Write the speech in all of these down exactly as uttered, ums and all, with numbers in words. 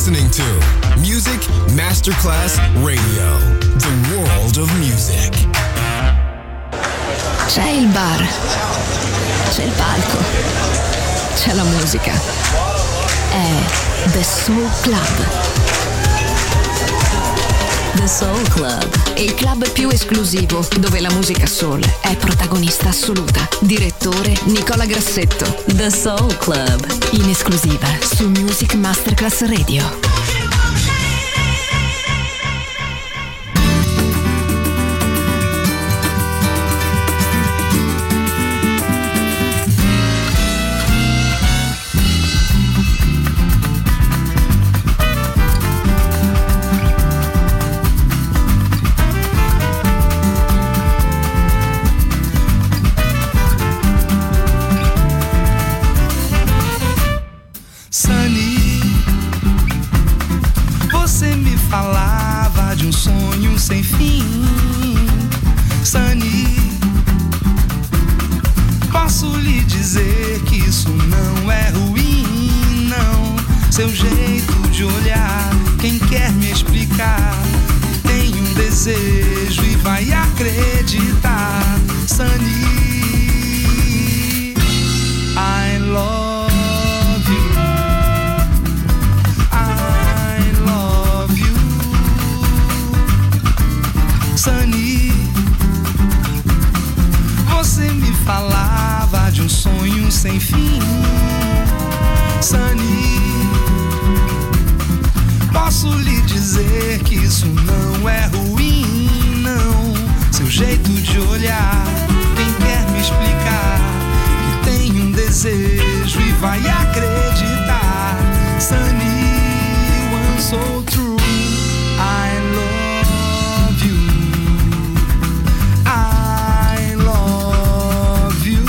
listening to Music Masterclass Radio, the world of music. C'è il bar, c'è il palco, c'è la musica. È The Soul Club. The Soul Club, il club più esclusivo dove la musica soul è protagonista assoluta. Direttore Nicola Grassetto. The Soul Club, in esclusiva su Music Masterclass Radio. Seu jeito de olhar, quem quer me explicar, tem um desejo e vai acreditar. Sunny, I love you, I love you. Sunny, você me falava de um sonho sem fim. Sunny, posso lhe dizer que isso não é ruim, não. Seu jeito de olhar, quem quer me explicar, que tem um desejo e vai acreditar. Sunny, one so true, I love you, I love you.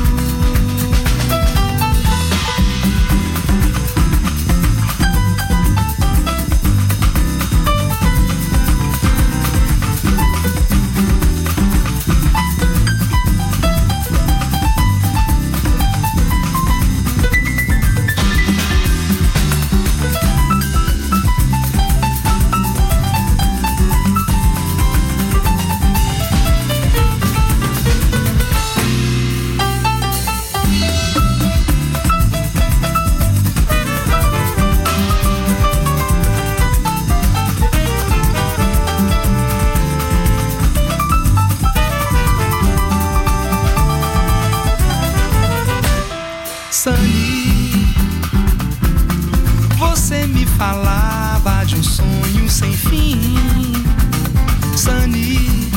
Sunny, você me falava de um sonho sem fim. Sunny,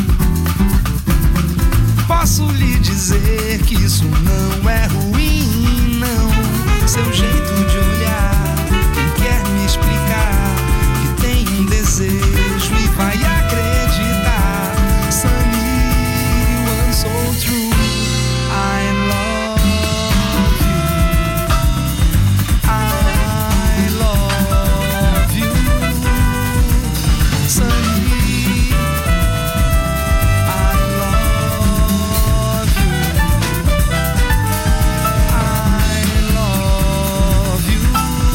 posso lhe dizer que isso não é ruim, não. Seu jeito de olhar, quem quer me explicar, que tem um desejo e vai acreditar. Sunny, one so true, I love. You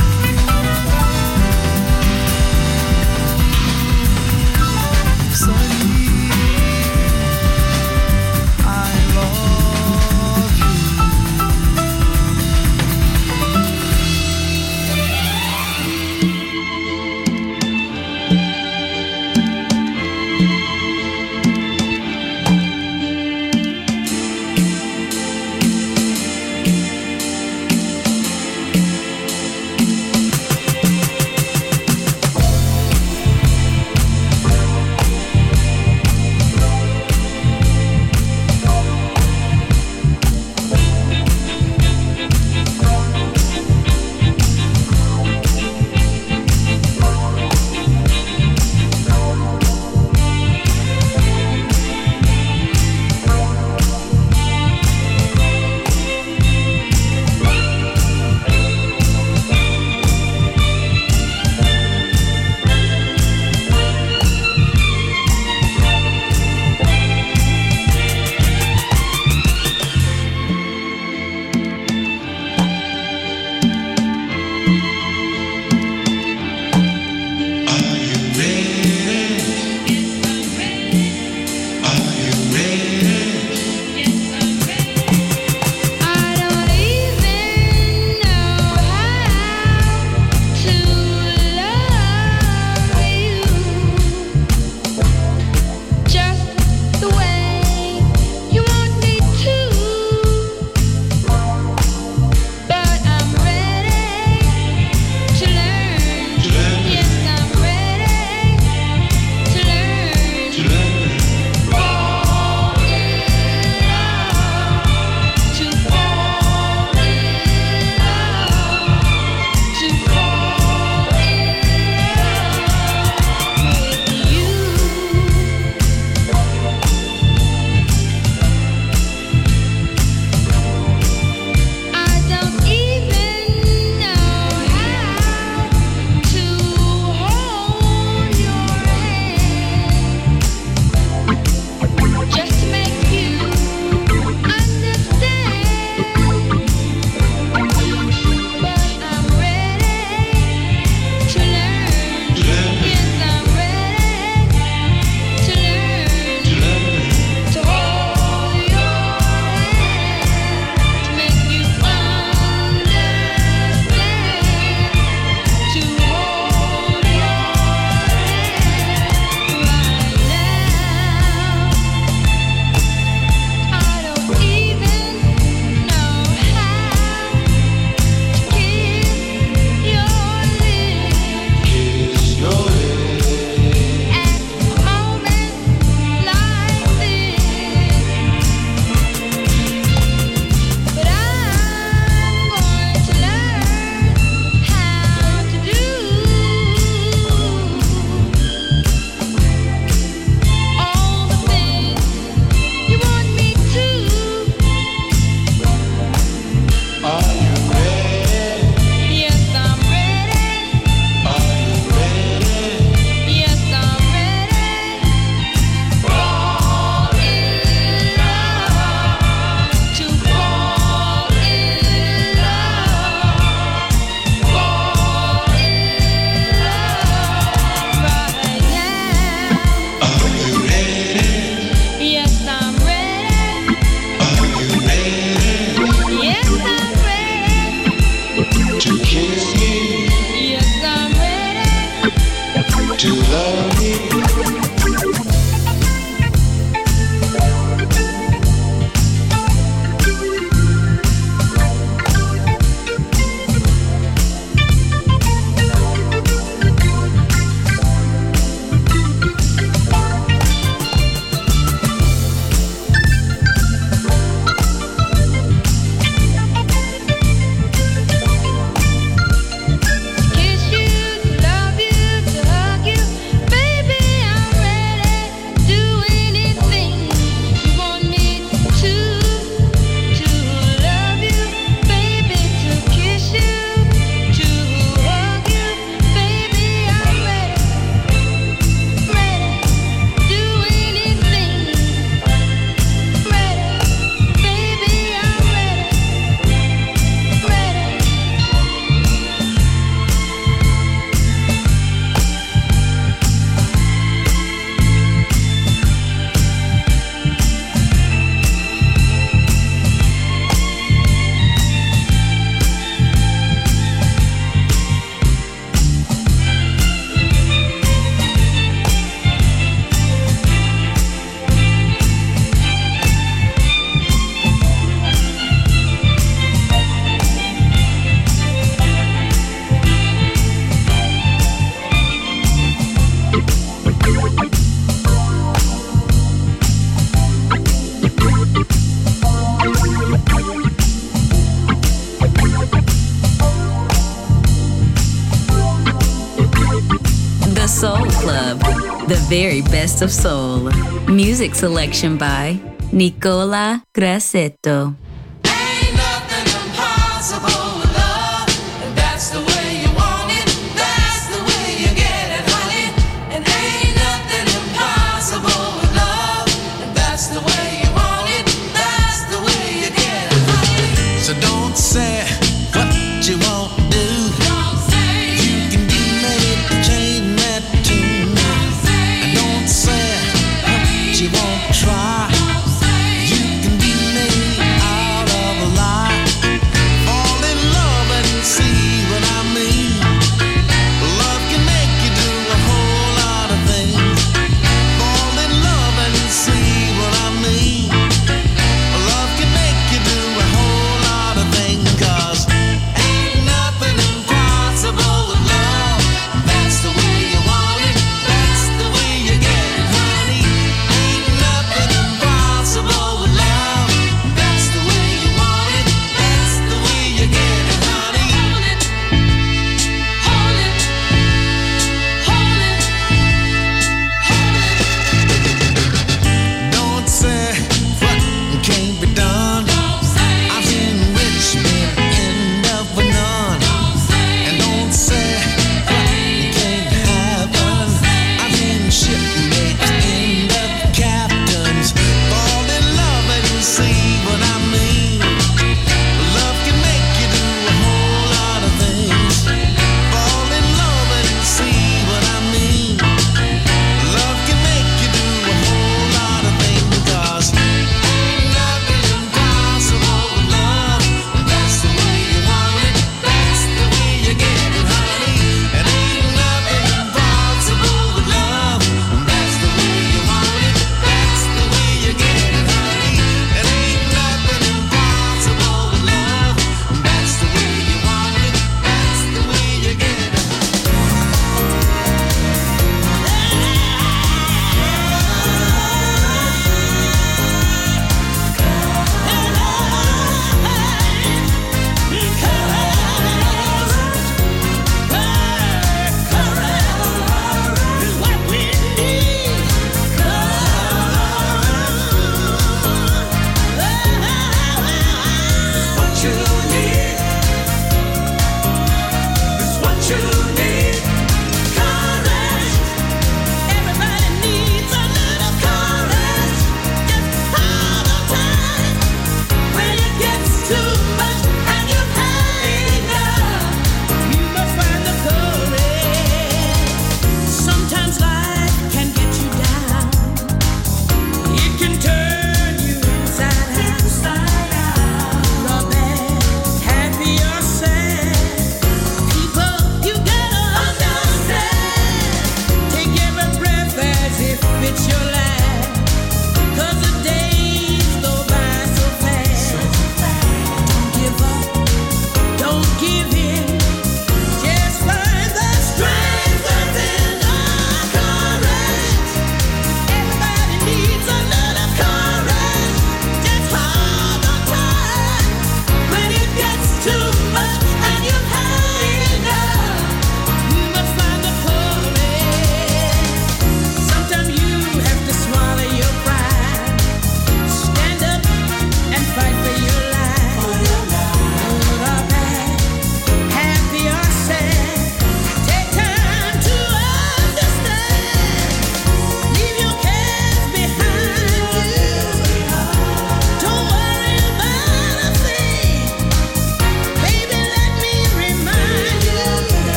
Soul Club, the very best of soul. Music selection by Nicola Grassetto.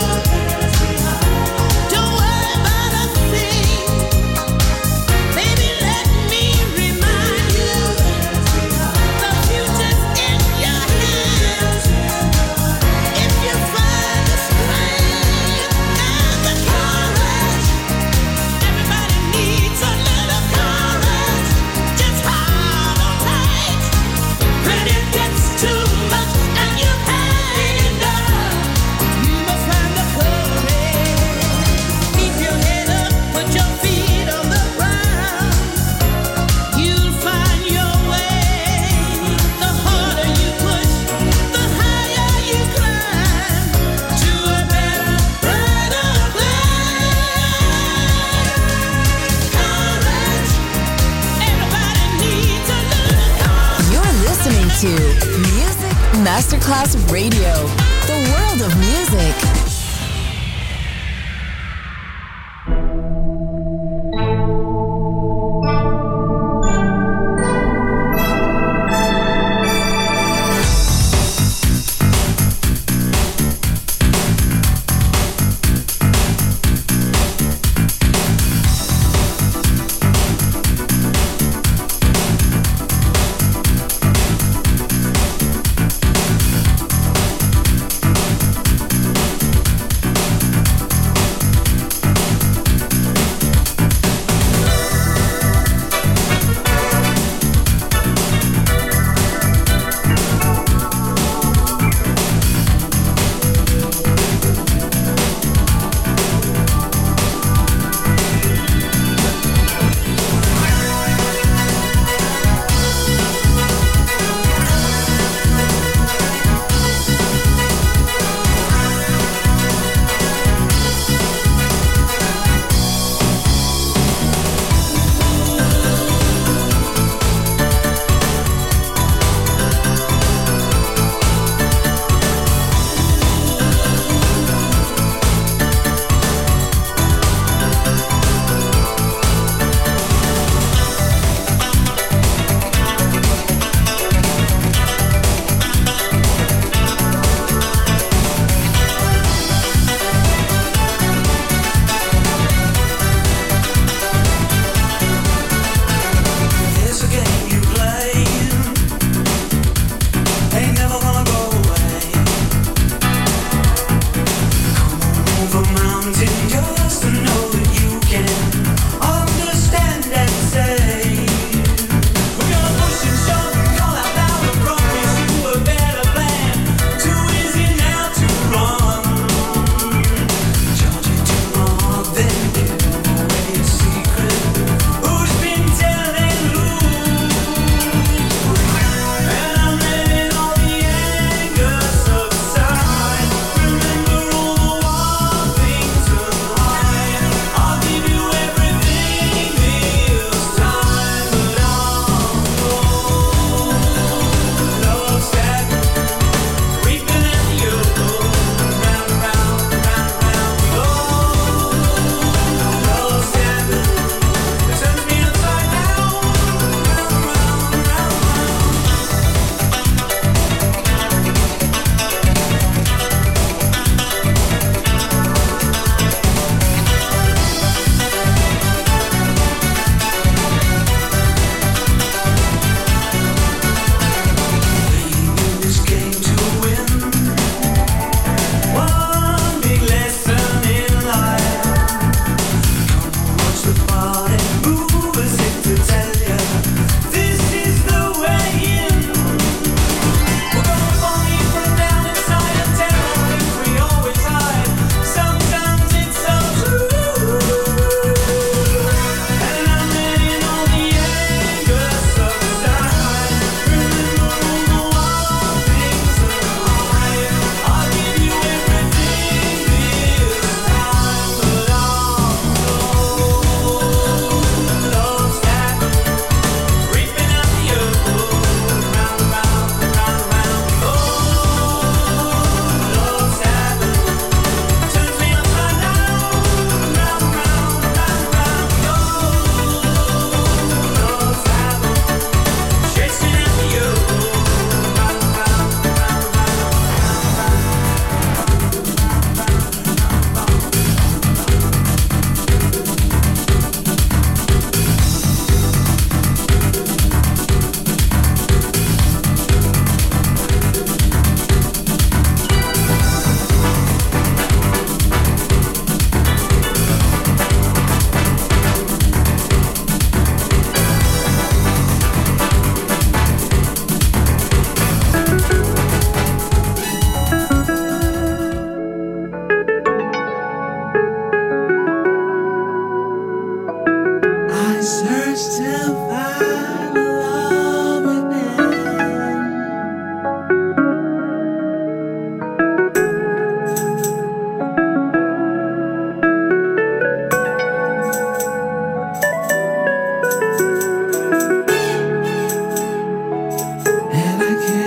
Baby, to Music Masterclass Radio, the world of music. And I can't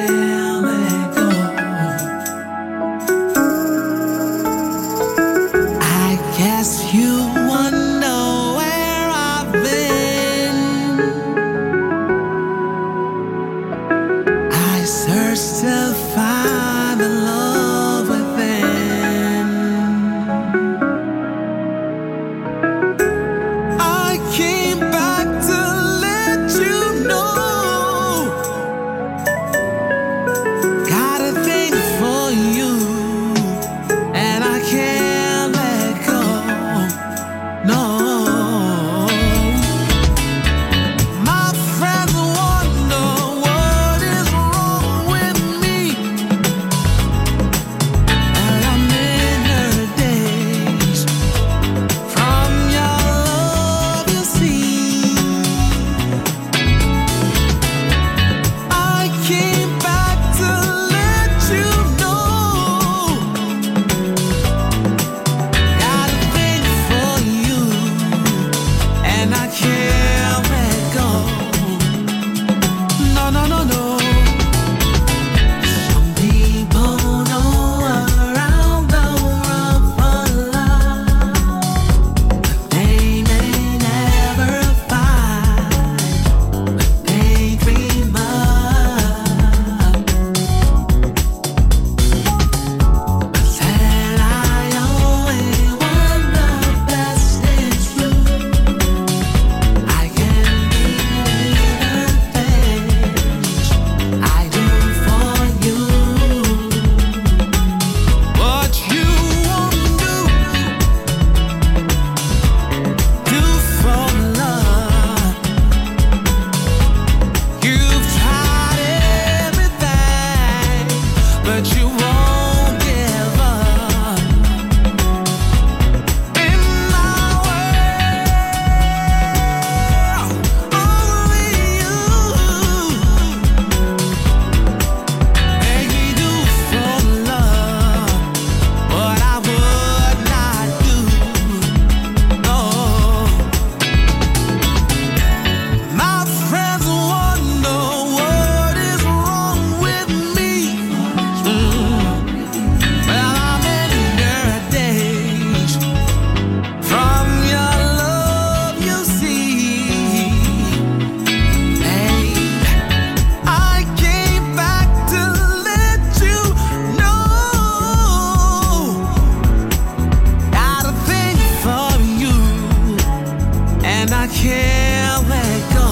can't let go.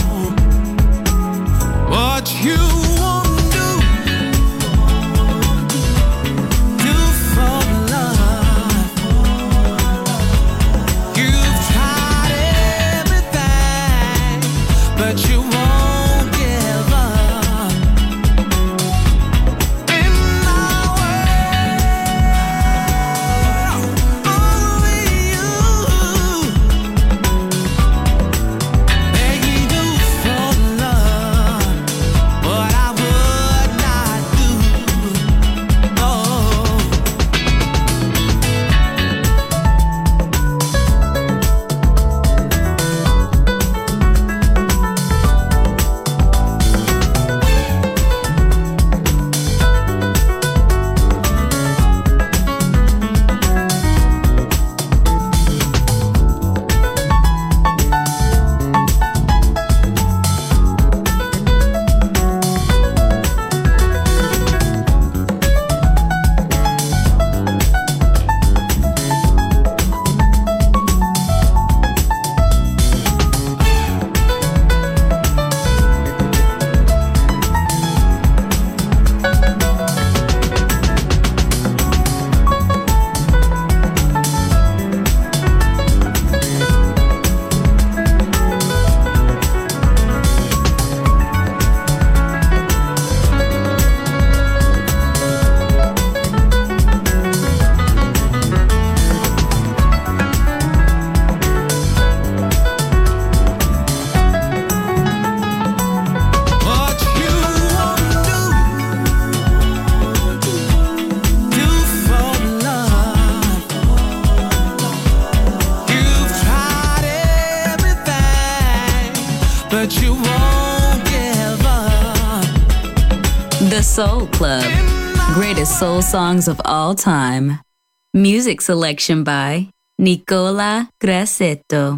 What you won't do, do for love. You've tried everything, but you won't give up. In my world, only you. Begging you for love, what I would not do. Oh. What you won't do, do for love. You've tried everything, but you won't give up. The Soul Club. Greatest soul songs of all time. Music selection by Nicola Grassetto.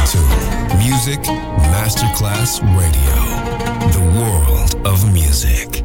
to Music Masterclass Radio, the world of music.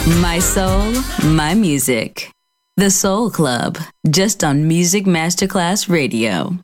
My soul, my music. The Soul Club, just on Music Masterclass Radio.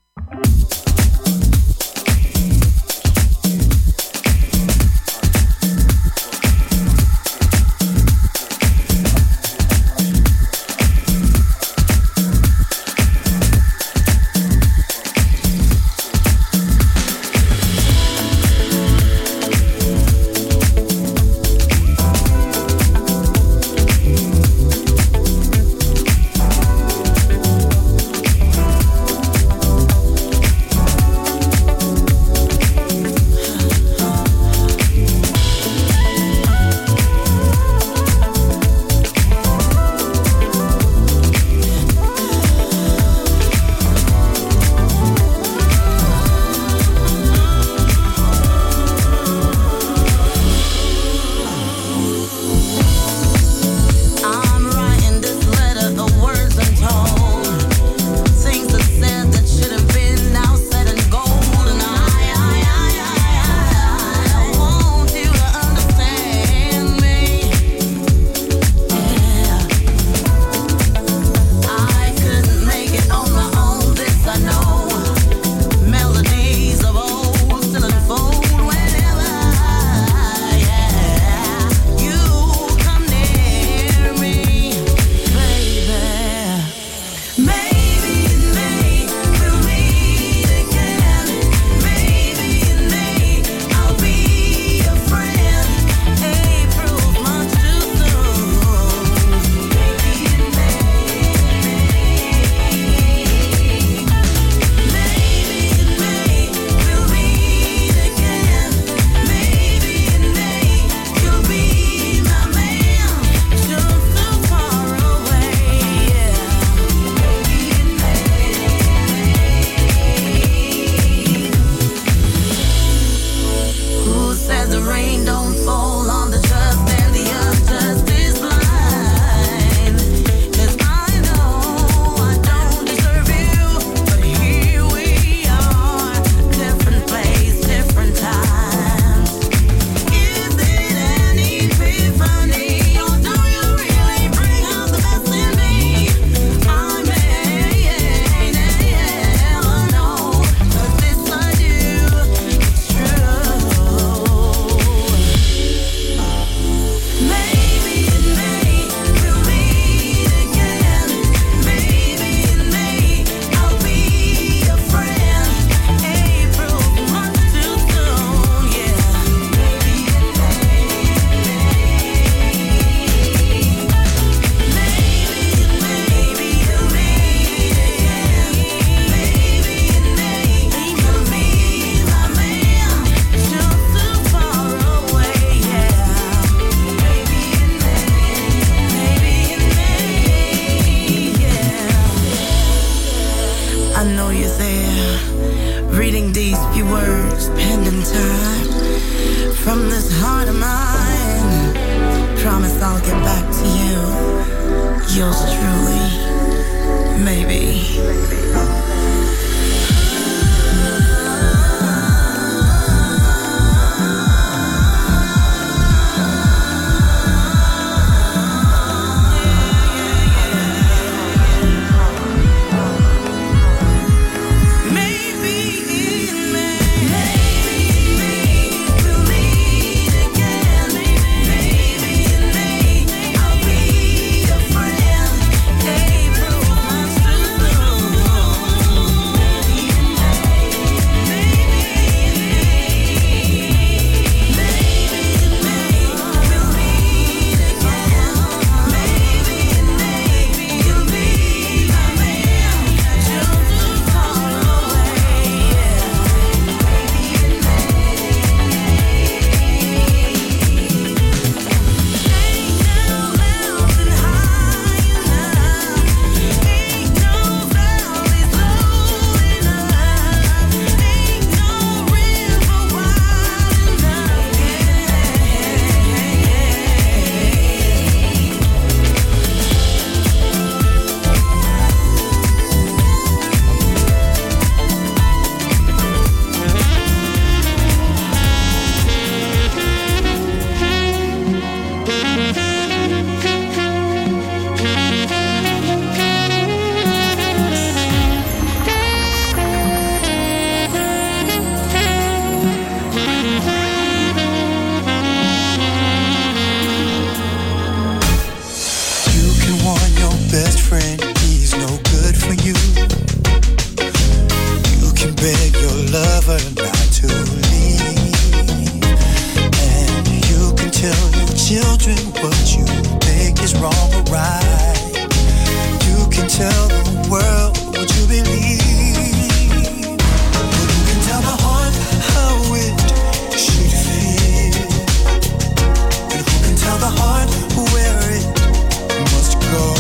prefer not to leave. And you can tell your children what you think is wrong or right. You can tell the world what you believe. But you can tell the heart how it should feel. And who can tell the heart where it must go?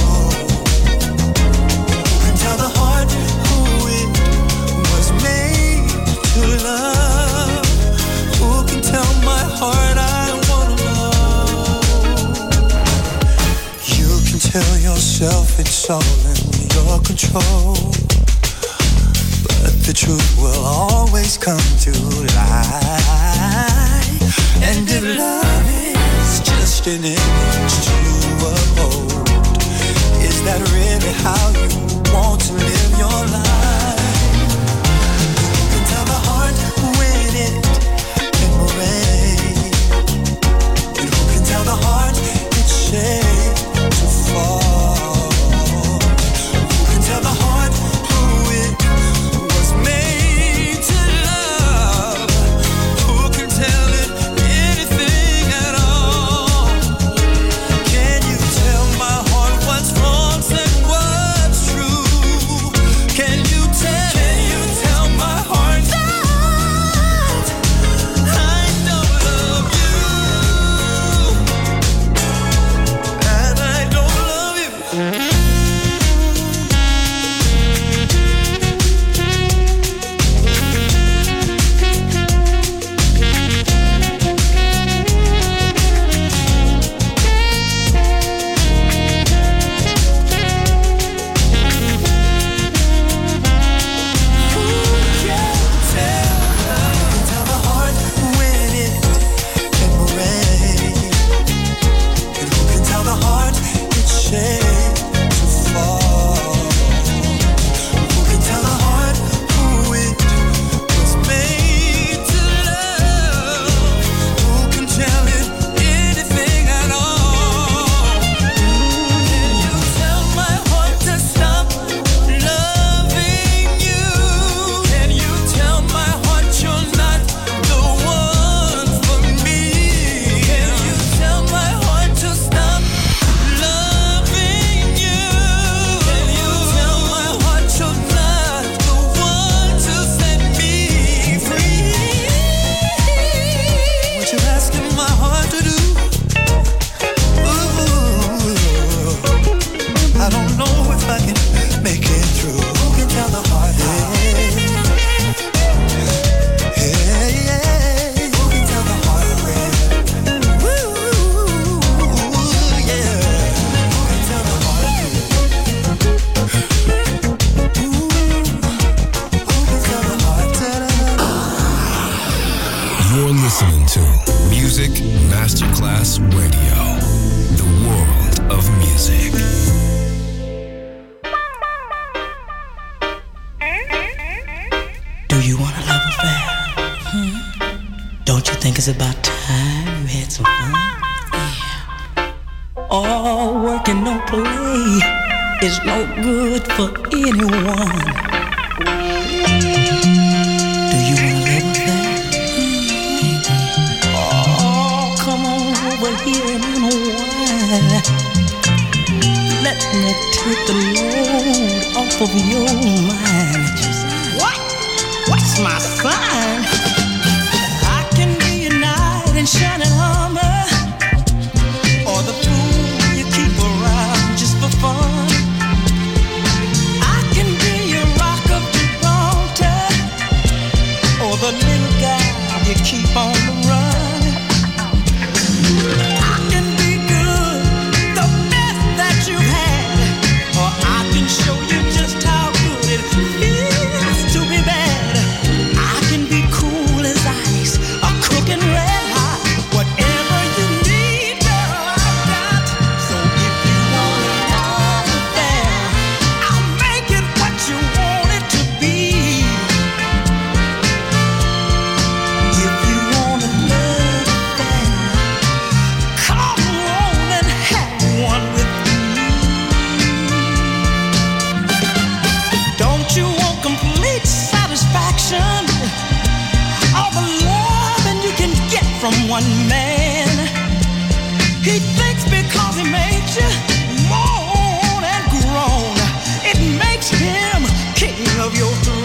Who can tell the heart who it was made to love? Who can tell my heart I wanna know? You can tell yourself it's all in your control, but the truth will always come to light. And if love is just an image to uphold, is that really how you want to live your life? You can tell the heart when it can break, and who can tell the heart it's shaped to fall? Who can tell the heart who it was made to love? Who can tell it anything at all? Can you tell my heart what's wrong and what's true? Can you tell? Can you tell my heart that I don't love you? And I don't love you. Tell the heart when it can break, and who can tell the heart it's shaped to fall? Who can tell the heart who it was made to love? Who can tell it anything at all? Can you tell my heart to stop loving you? Can you tell my heart you're not the one for me? Can you tell my heart to stop loving you? Can you tell my heart you're not the one to set me free? What you asking my heart to do? Ooh, I don't know if I can make it through. Who can tell the heart how? Hey, yeah. Who can tell the heart where? Ooh, yeah. Who can tell the heart who? Ooh, who can tell the heart? Ta-da-da-da. You're listening to Music Masterclass Radio, the world of music. Do you want a love affair? Hmm? Don't you think it's about time you had some fun? Yeah. All work and no play is no good for anyone. Do you want a love affair? Oh, come on over here and unwind. Let me take the load off of your mind. What? What's my sign? I can be a knight in shining armor, or the fool you keep around just for fun. I can be your rock of Gibraltar, or the little guy you keep on the run. I can be good, the best that you've had, or I can show you just how good it feels.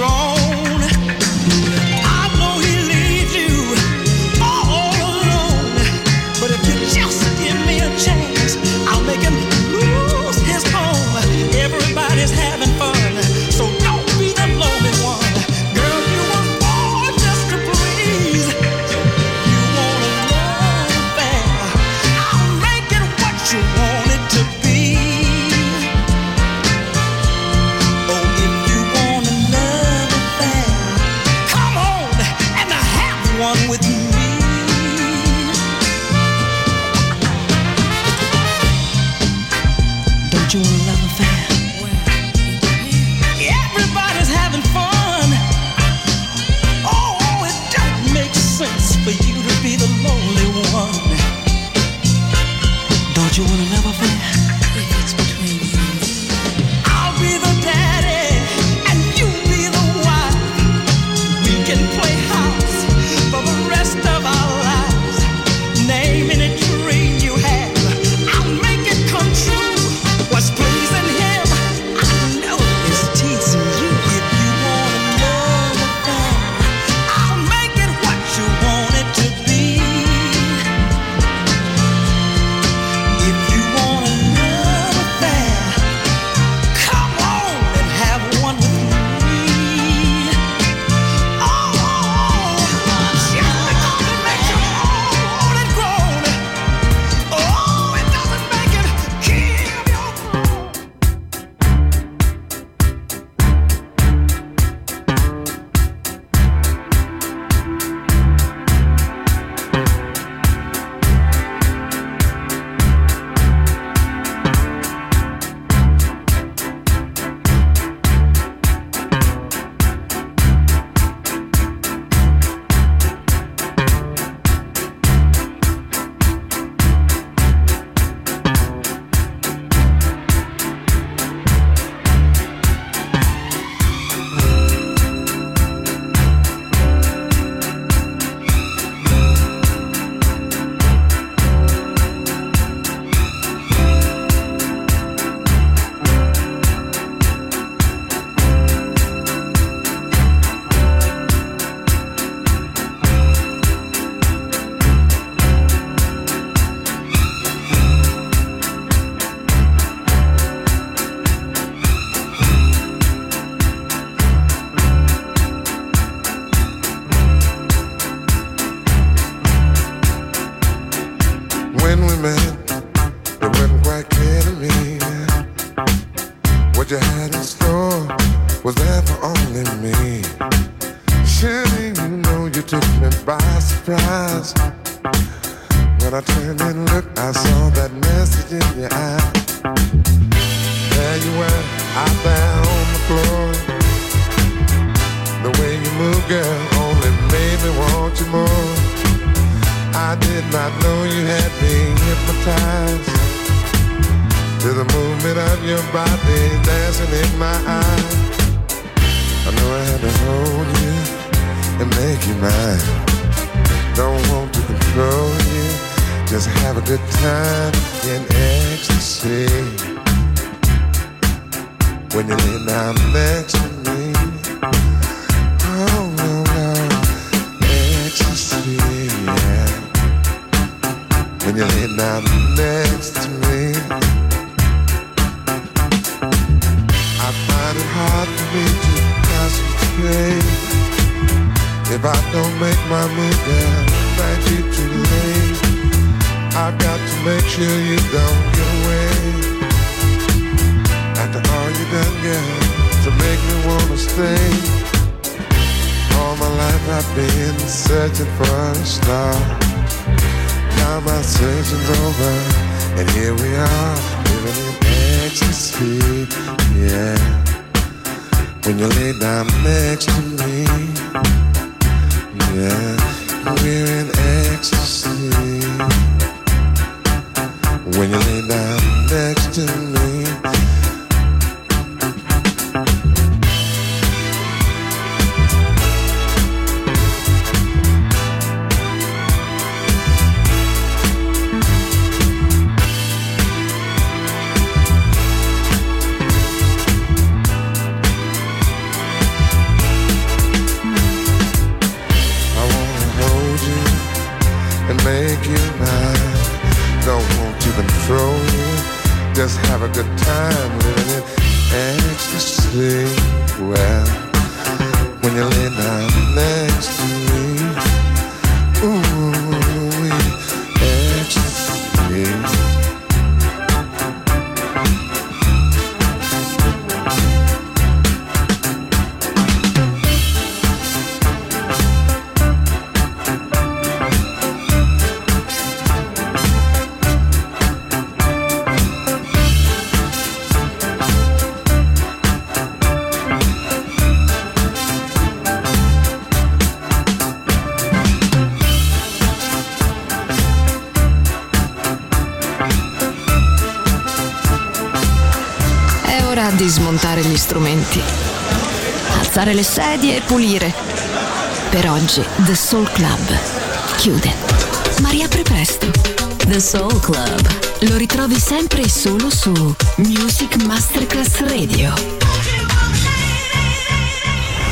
grown. I know he leaves you all alone, but if you just give me a chance, I'll make him lose his home. Everybody's having fun, so don't be the lonely one. Girl, you were born just to please. You want a love affair, I'll make it what you want it to be. Oh, if you want a love affair, come on and have one with me. Don't you want a love affair? Everybody's having fun. Oh, it don't make sense for you to be the lonely one. Don't you want a love affair? If it's between you and me, I'll be the daddy and you be the wife. We can play house for the rest of our lives. Name any dream you have, I'll make it come true. What's pleasing him, I know is teasing you. If you want a love affair, I'll make it what you want it to be. If you want a love affair, come on and have one with me. Oh, just because it makes you old and grown, oh, it doesn't make it keep your When we met, it wasn't quite clear to me what you had in store was there for only me. Surely you know you took me by surprise. When I turned and looked, I saw that message in your eye. There you were, out there on the floor. The way you move, girl, only made me want you more. I did not know you had me hypnotized to the movement of your body dancing in my eyes. I know I had to hold you and make you mine. Don't want to control you, just have a good time in ecstasy. When you lay down next to me, oh no, no, ecstasy, yeah. When you lay down next to me, I find it hard for me to concentrate. If I don't make my move, then it might be too late. I've got to make sure you don't get away. After all you done, girl, to make me wanna stay. All my life I've been searching for a star. Now my searching's over, and here we are, living in ecstasy, yeah. When you lay down next to me, yeah, we're in ecstasy. When you lay down next to me, make you mine. Don't want to control you, just have a good time living in ecstasy. Well, when you lay down next to me, ooh, ecstasy. Di smontare gli strumenti, alzare le sedie e pulire. Per oggi The Soul Club chiude, ma riapre presto. The Soul Club lo ritrovi sempre e solo su Music Masterclass Radio.